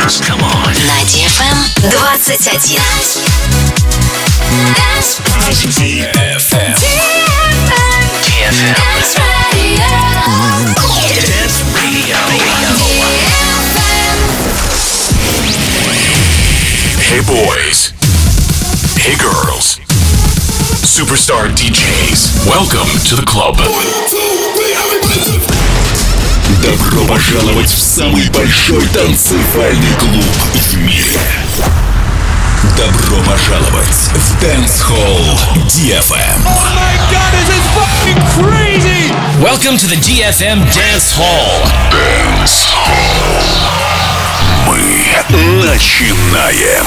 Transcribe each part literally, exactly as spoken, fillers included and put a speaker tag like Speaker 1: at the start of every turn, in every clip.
Speaker 1: dance. Come on.
Speaker 2: На ди эф эм двадцать один.
Speaker 1: ди эф эм. ди эф эм.
Speaker 2: Dance Radio.
Speaker 1: Dance Radio. Hey boys. Hey girls. Superstar ди джейс. Welcome to the club.
Speaker 3: Добро пожаловать в самый большой танцевальный клуб в мире. Добро пожаловать в Dance Hall ди эф эм.
Speaker 4: Oh my god, this is fucking crazy!
Speaker 5: Welcome to the ди эф эм Dance Hall.
Speaker 3: Dance Hall. Мы начинаем.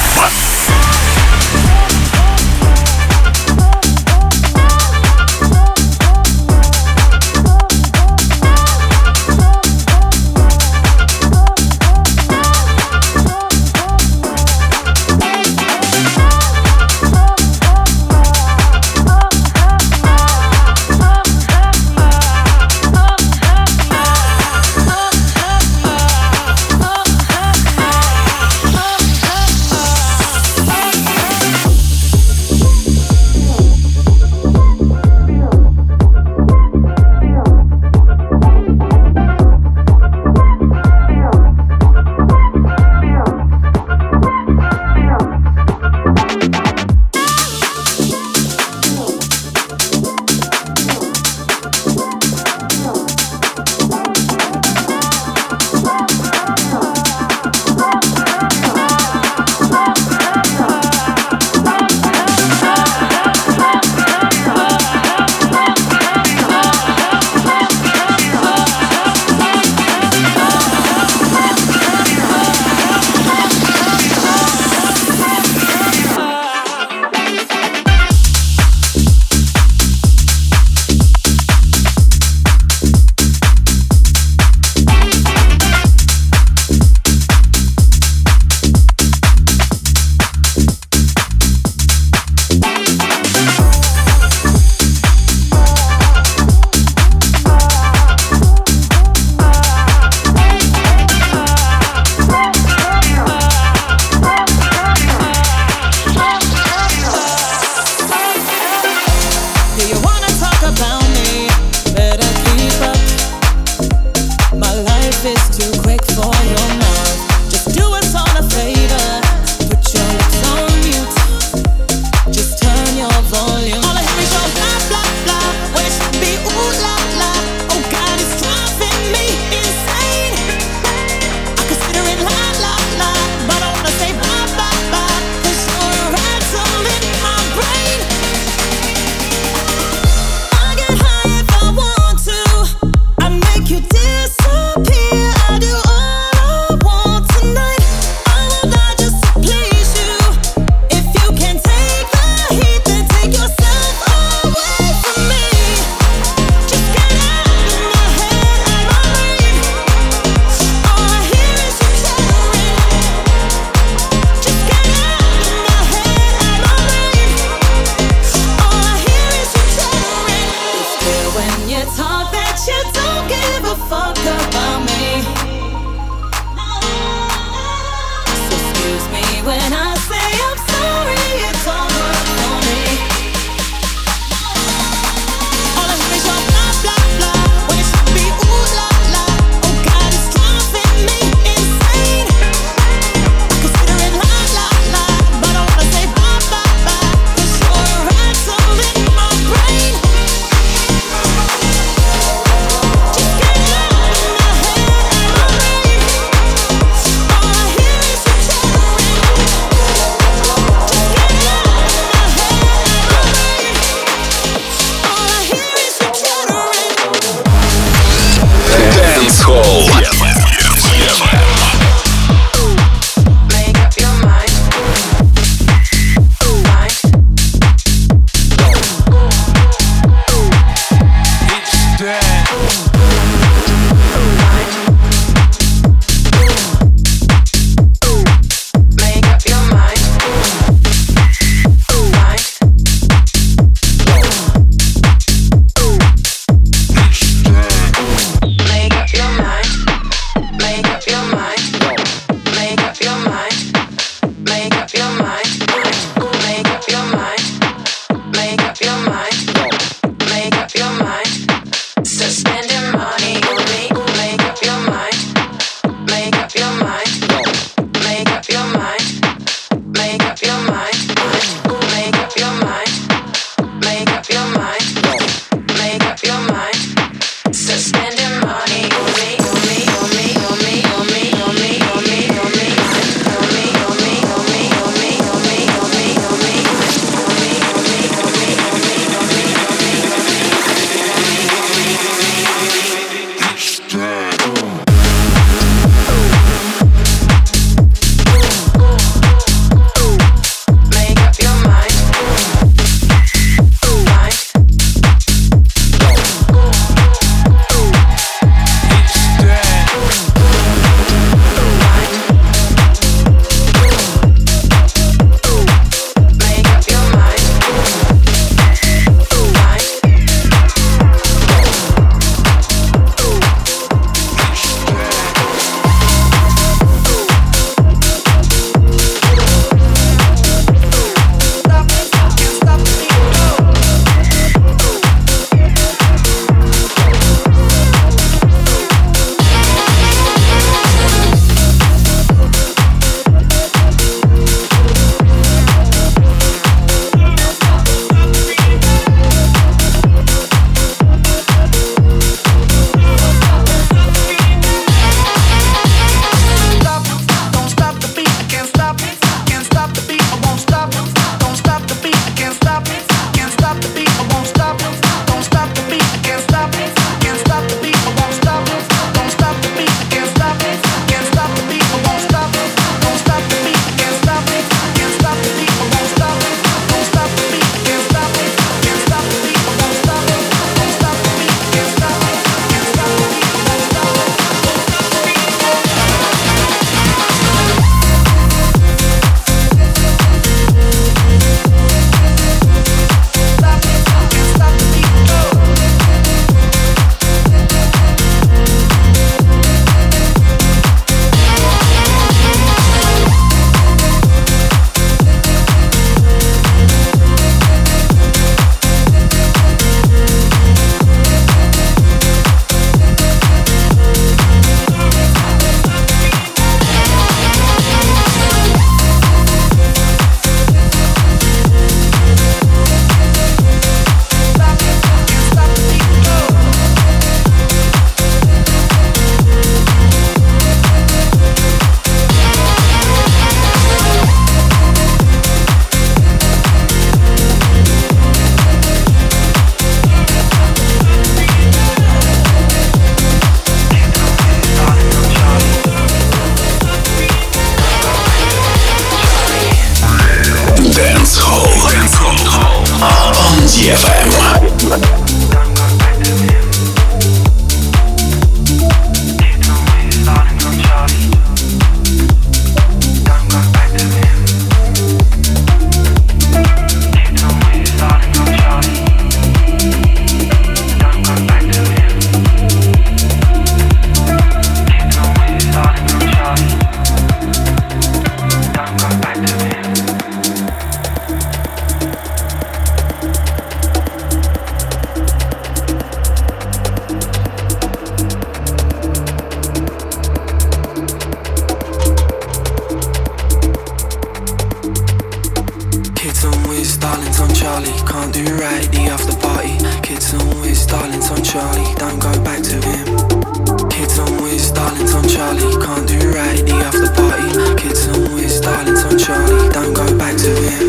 Speaker 6: darlings on Charlie, don't go back to him. Kids on whiz, darlings on Charlie, can't do right in the after party. Kids on whiz, darlings on Charlie, don't go back to him.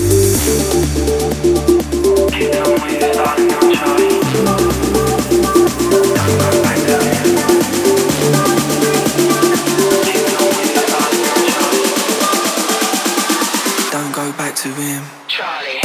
Speaker 6: Kids on whiz, darlings on Charlie, don't go back to him. Kids on whiz, darlings on Charlie, don't go back to him. Charlie.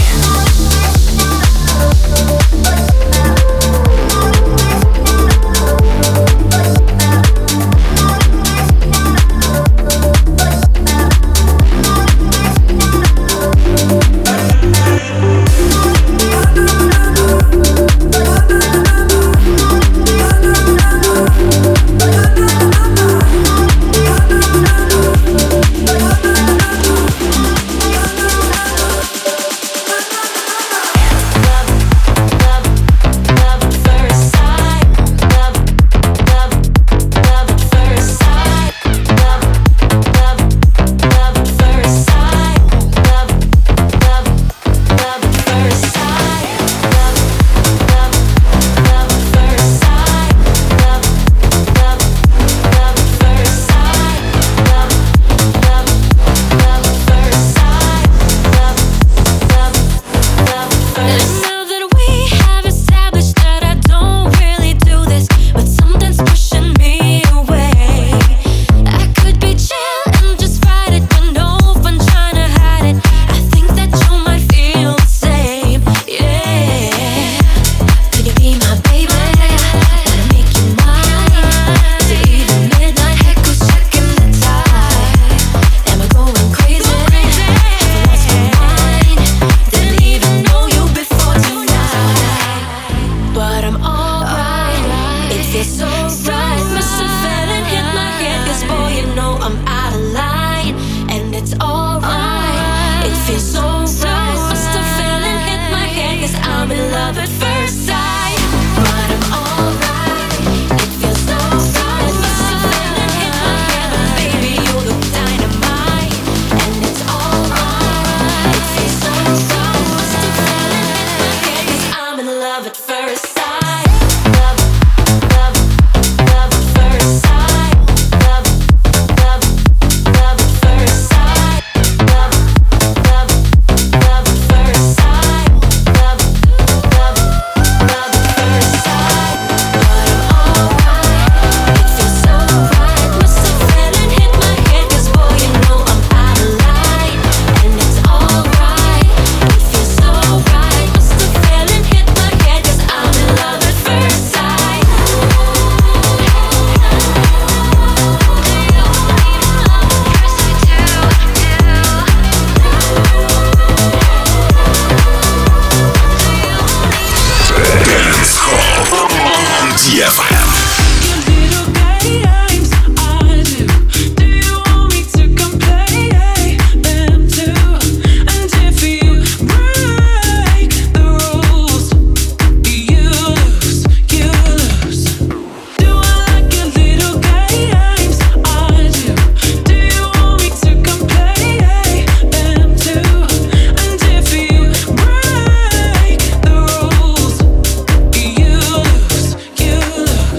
Speaker 7: You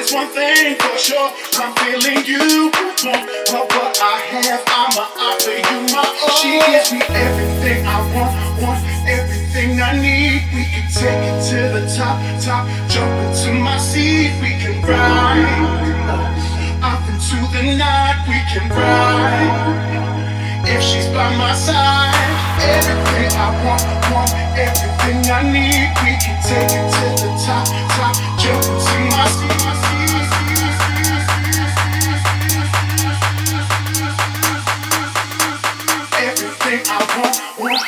Speaker 7: There's one thing for sure, I'm feeling you more of what I have. I'ma offer you my all. She gives me everything I want, want everything I need. We can take it to the top, top, jump into my seat. We can ride off into the night. We can ride if she's by my side. Everything I want, want everything I need. We can take it to the top, top, jump into my seat. Everything I want, want.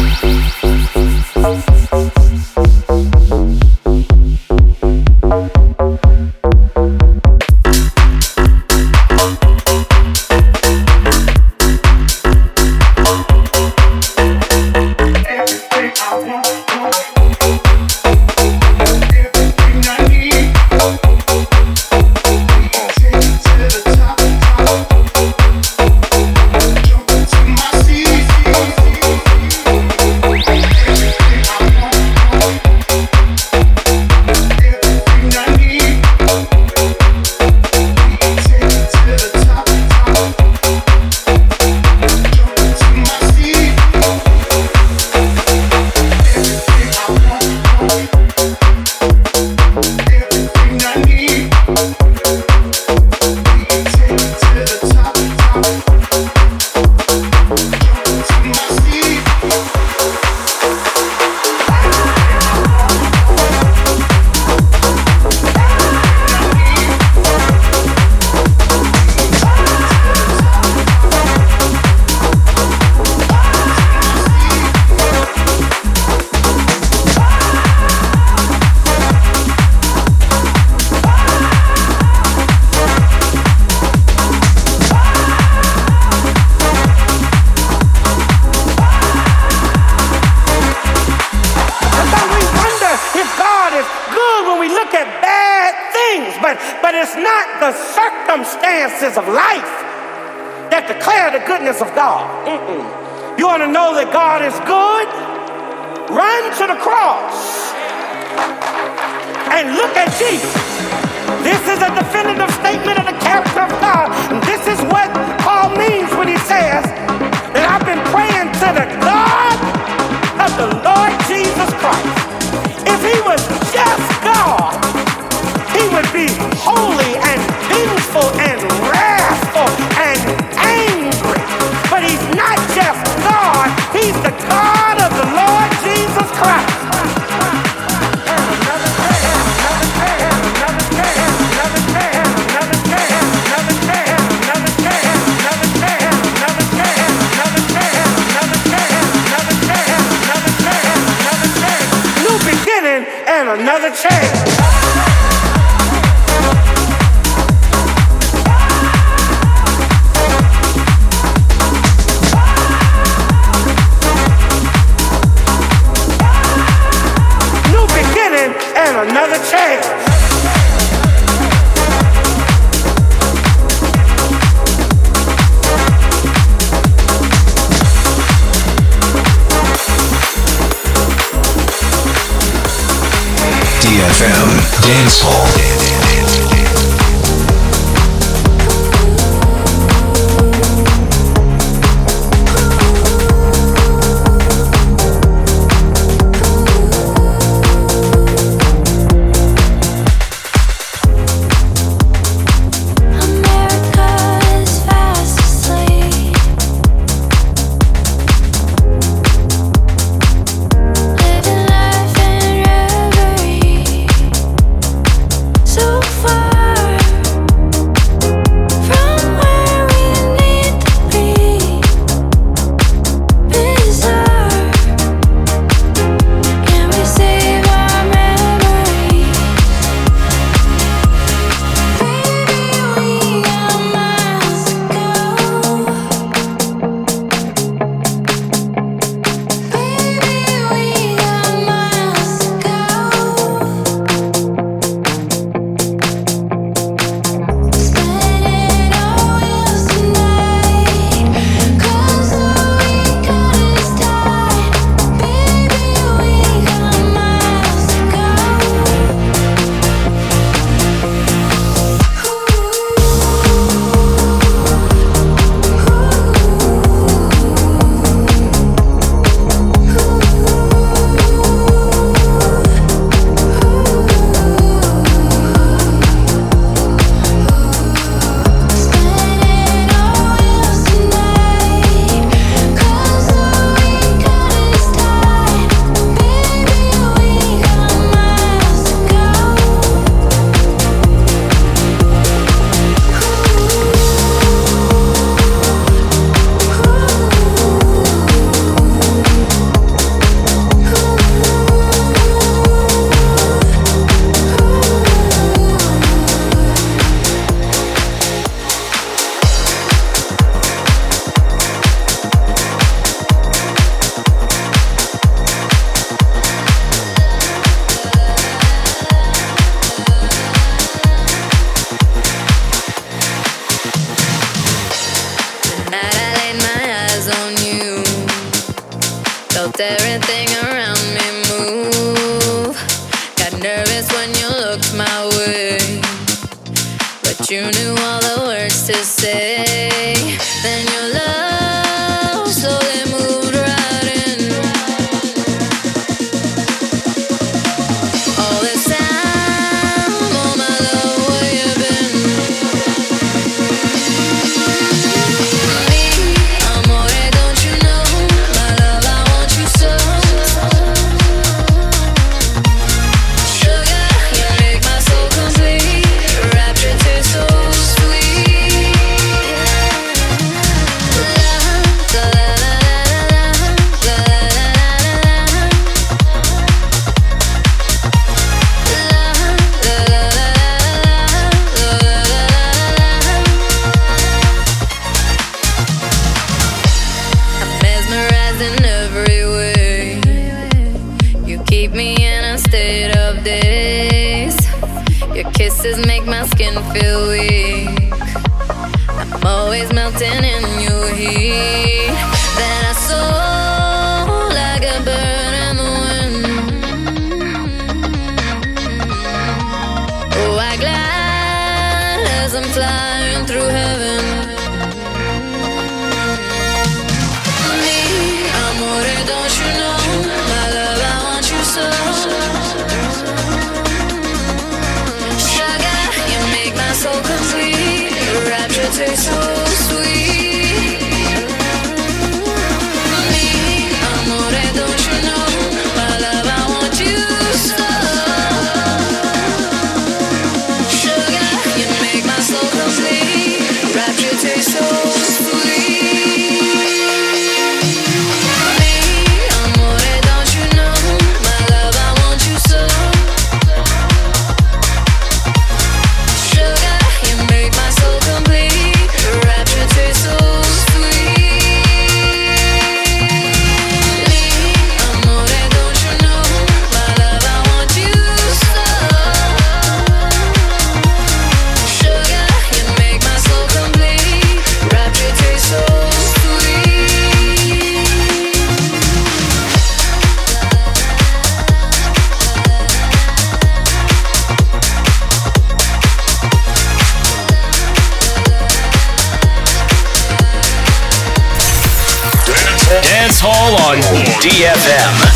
Speaker 8: Of life that declare the goodness of God. Mm-mm. You want to know that God is good? Run to the cross and look at Jesus. This is a definitive statement of the character of God. And this is what Paul means when he says that I've been praying to the God of the Lord Jesus Christ. If he was just God, he would be holy and vengeful and wrathful and angry. But he's not just God, he's the God of the Lord Jesus Christ. New beginning and another chance. Another chance.
Speaker 1: D F M Dance Hall.
Speaker 2: So
Speaker 9: my way, but you knew all the words to say. Then your love slowly moved right in. All this time, oh my love, where you been? Me, amore, don't you know, my love, I want you so. Sugar, you make my soul complete. Your rapture tastes so sweet. La, la, la, la, la, la, I'm mesmerized in every way. You keep me in a state of daze. Your kisses make my skin feel weak. I'm always melting in your heat. Then I soar like a bird in the wind. Oh, I glide as I'm flying through heaven. Me, amore, don't you know, my love, I want you so. Sugar, you make my soul complete. Your rapture tastes so sweet. Me, amore, don't you know, my love, I want you so. Sugar, you make my soul complete. Rapture tastes so sweet. Me, amore, don't you know, my love, I want you so. Sugar, you make my soul complete. Your rapture tastes so sweet. Me, amore, don't you know, my love, I want you so. Sugar, you make my soul complete. Rapture tastes so sweet.
Speaker 5: Dance Hall on D F M.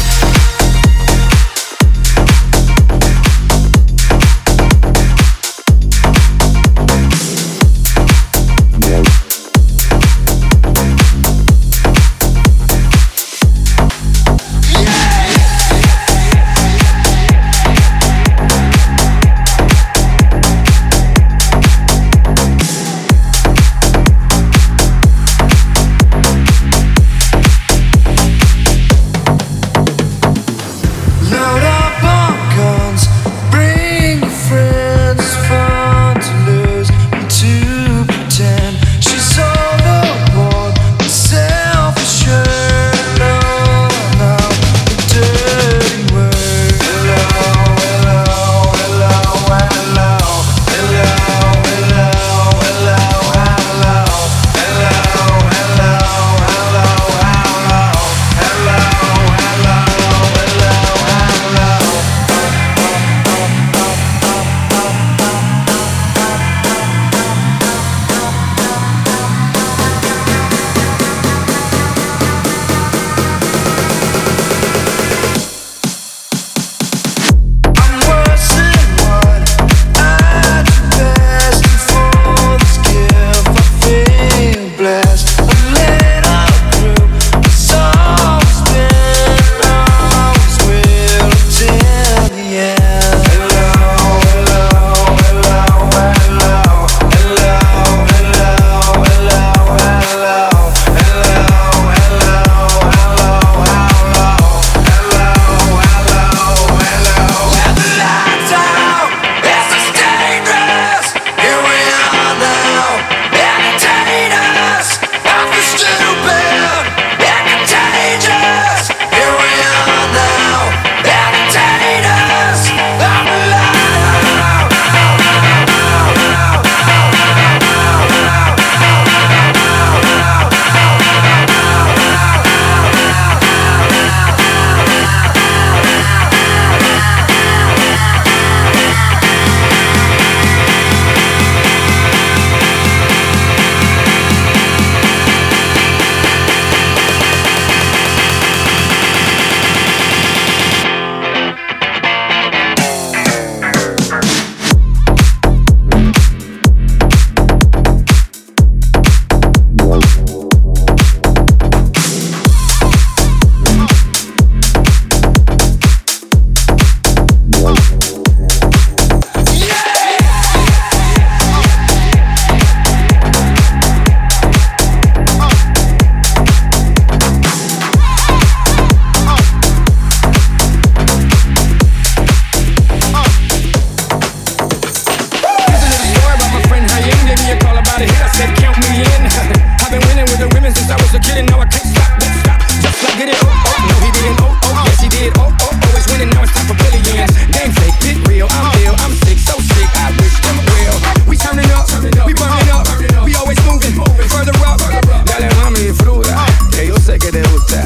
Speaker 10: I was a kid and now I can't stop, won't stop. Just like it, oh, oh, no he didn't, oh, oh, yes he did, oh, oh, always winning, now it's time for billions. Game fake, bit real, I'm ill, I'm sick, so sick, I wish them well. We turning up, we burning up, we always moving, further up. Dale mami, disfruta, que yo sé que te gusta.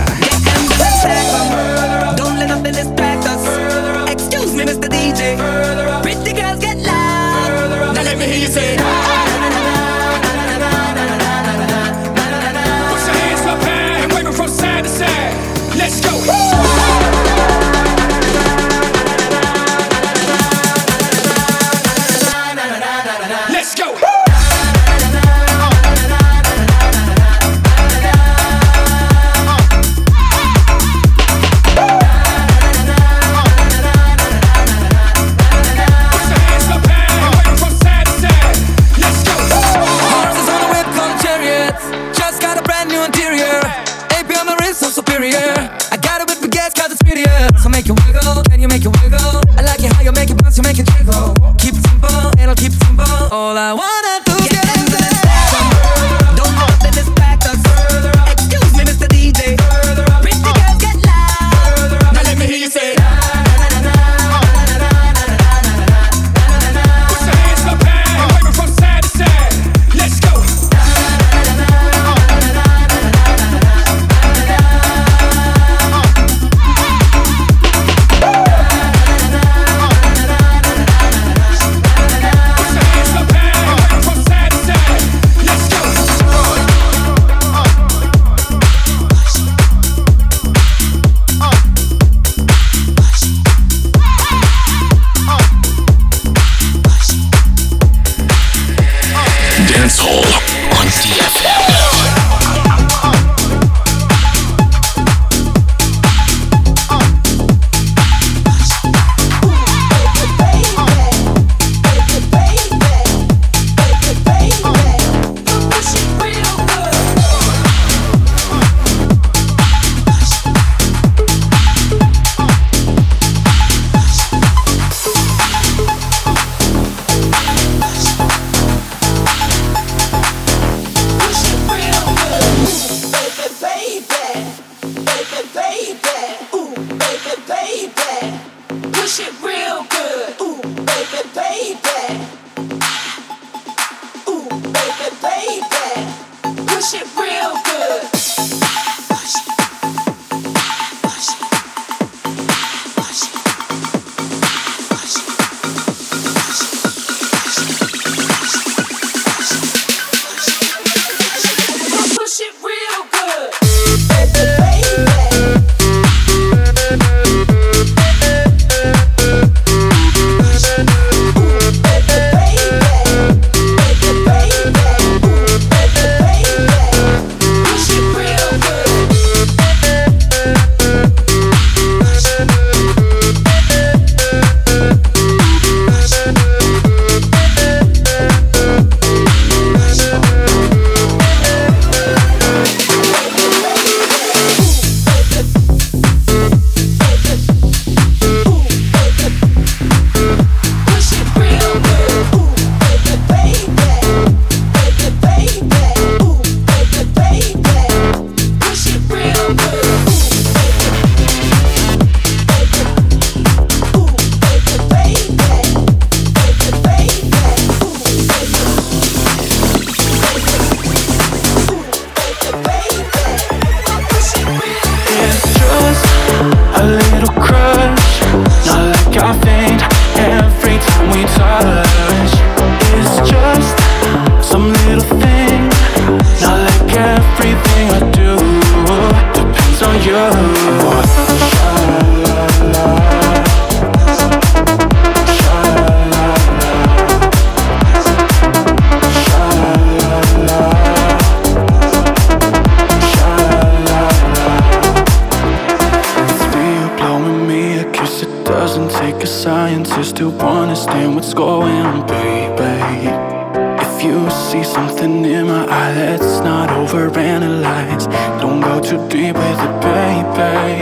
Speaker 11: Don't let nothing distract us. Excuse me, Mister D J. Pretty girls get loud. Now let me hear you say.
Speaker 10: Let's go. Let's go.
Speaker 11: So make you wiggle, can you make you wiggle? I like it how you make it bounce, you make it jiggle. Keep it simple, and I'll keep it simple. All I wanna do is get into the section. Don't let them distract us. Excuse me, Mister D J. Pretty girls get loud.
Speaker 10: Now let me hear you say.
Speaker 6: scientist to understand what's going on, baby. If you see something in my eye, let's not overanalyze. Don't go too deep with it, baby.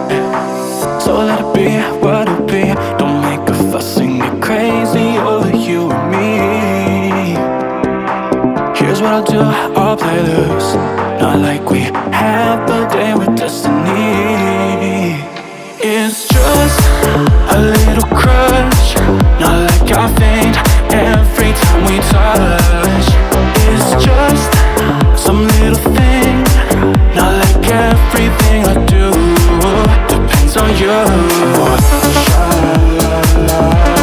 Speaker 6: So let it be what it be. Don't make a fuss and get crazy over you and me. Here's what I'll do, I'll play loose. not like we have a day with destiny. It's just a little crush, not like I faint every time we touch. It's just some little thing, not like everything I do depends on you. Sha-la-la,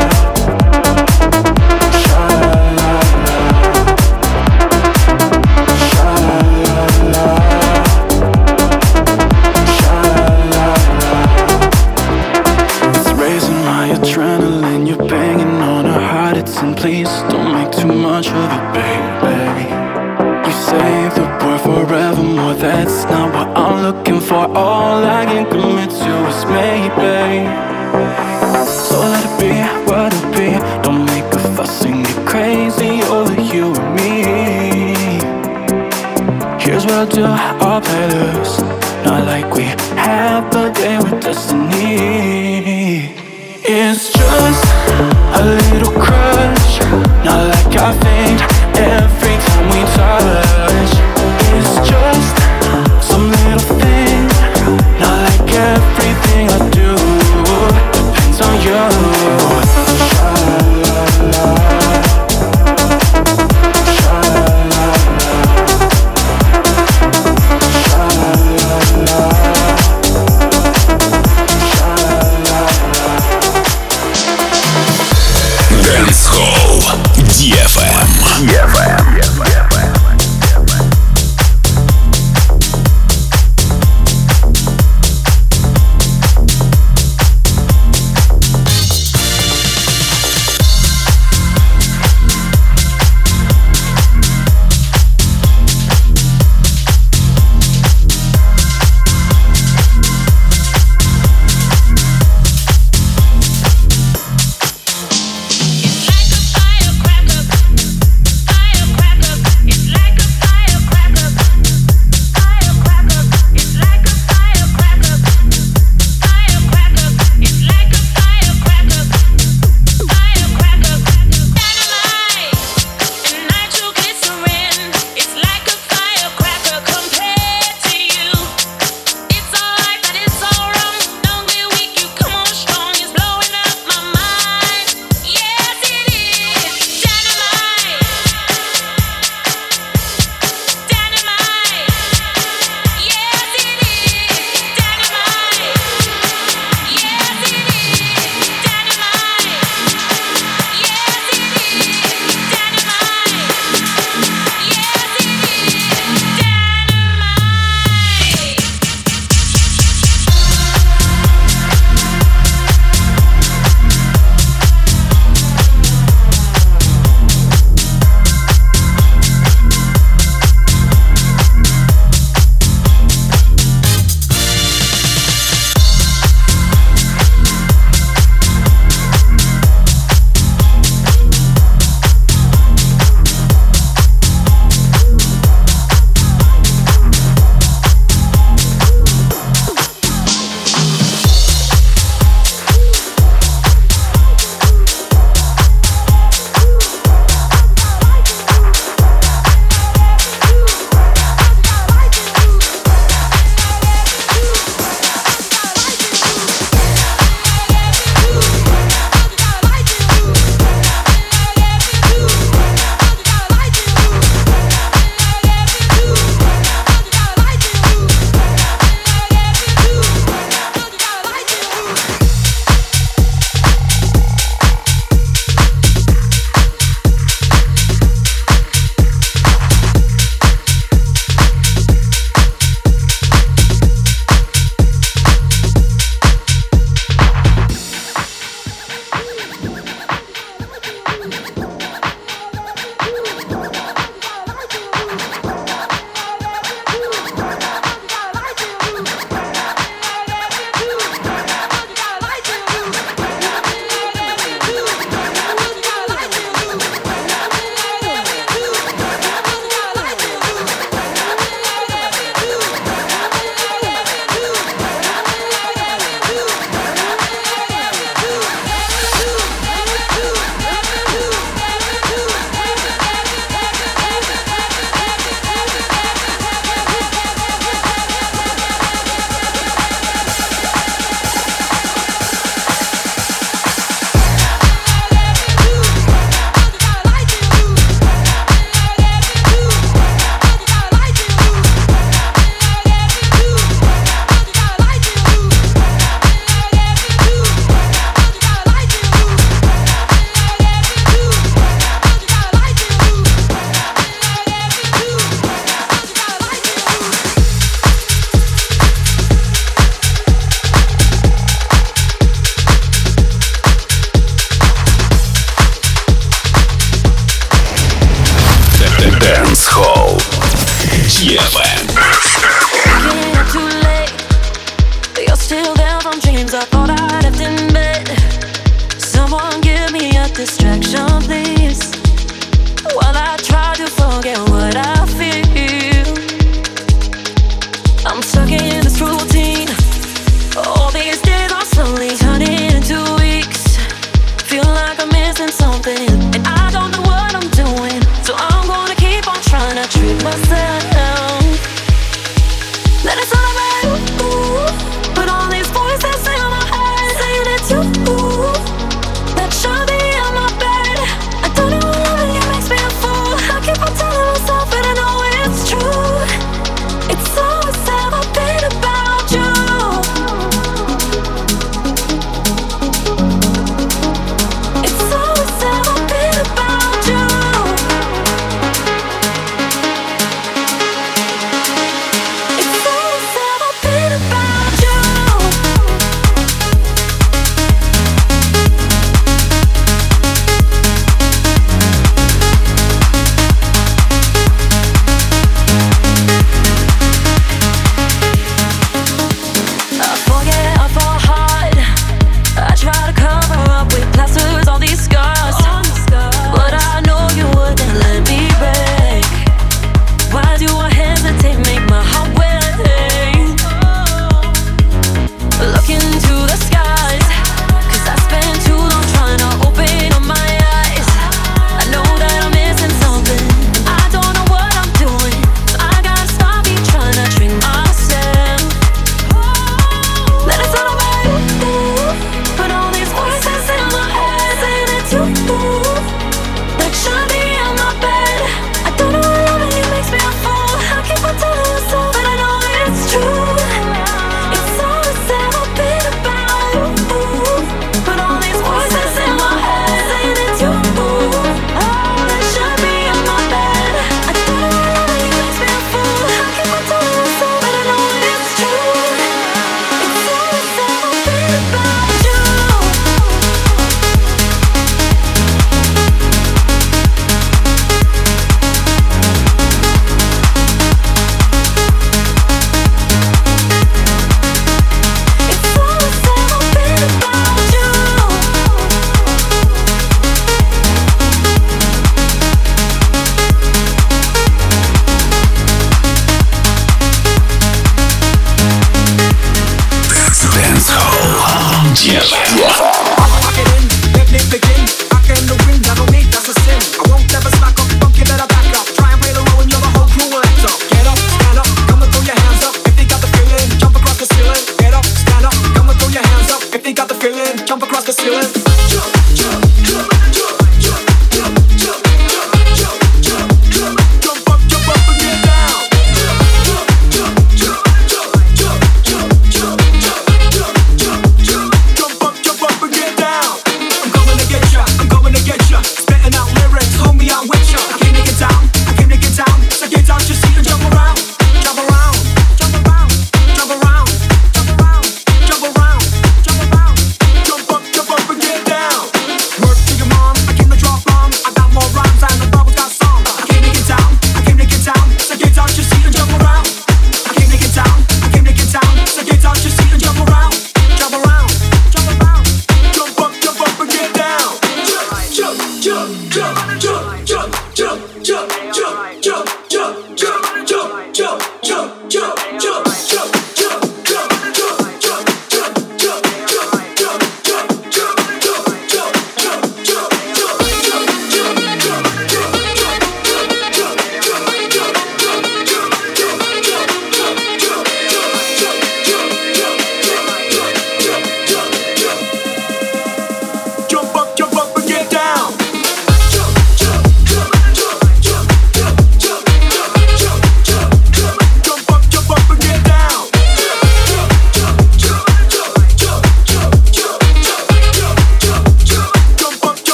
Speaker 6: sha-la-la, sha-la-la, sha-la-la. It's raising my adrenaline, you're banging on her heart, it's in. Please don't make too much of it, baby. You say the word forevermore, that's not what I'm looking for. All I can commit to is maybe. So let it be what it be. Don't make a fuss and get crazy over you and me. Here's what I'll do, I'll play loose, not like we have a day with destiny. It's just a little crush, not like I faint every time we touch. It's just some little thing, not like everything I do depends on you. Sha-la-la, sha-la-la, sha-la-la, sha-la-la.
Speaker 3: Dance Hall ди эф эм. ди эф эм.
Speaker 12: Firecracker, fire
Speaker 3: Hall. ди эф эм.
Speaker 9: Too late, but you're still there from dreams I thought I left in bed. Someone give me a distraction, please, while I try to forget what I feel. I'm stuck in this routine. All these days are slowly turning into weeks. Feel like I'm missing something, and I don't know what I'm doing. So I'm gonna keep on trying to trick myself. Let it celebrate, ooh, but all these voices in my head saying it's you, ooh, that should be on my bed. I don't know what loving you makes me a fool. I keep on telling myself and I know it's true. It's always ever been about you. It's always ever been about you.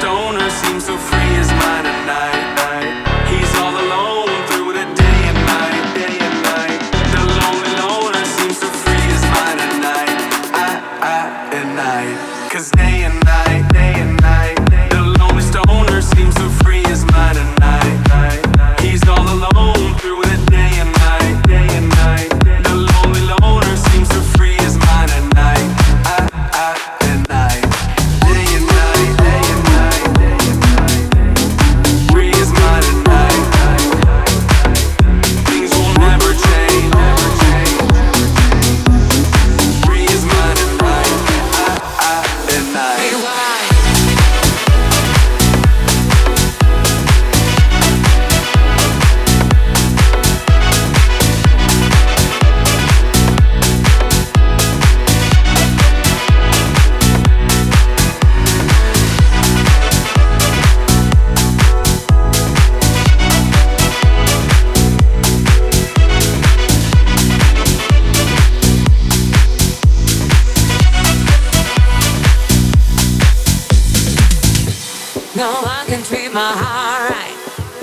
Speaker 6: stoner seems so free his mind at night. He's all alone through the day and night, day and night. The lonely loner seems to free his mind at night, I, I, at night. Cause day and night, day and night, the lonely stoner seems to free his mind at night. He's all alone through the day and night, day and night. The lonely loner seems to free his mind at night, I, I, at night. Day and night, day and night, day and night. Free his mind at night. Things will never change, never change. Free his mind at night, I, I, at night.
Speaker 11: No one can treat my heart right.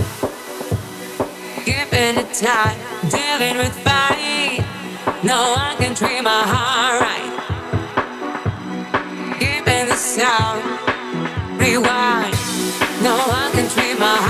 Speaker 11: Keeping it tight, dealing with fight. No one can treat my heart right. Keeping the sound, rewind. No one can treat my heart.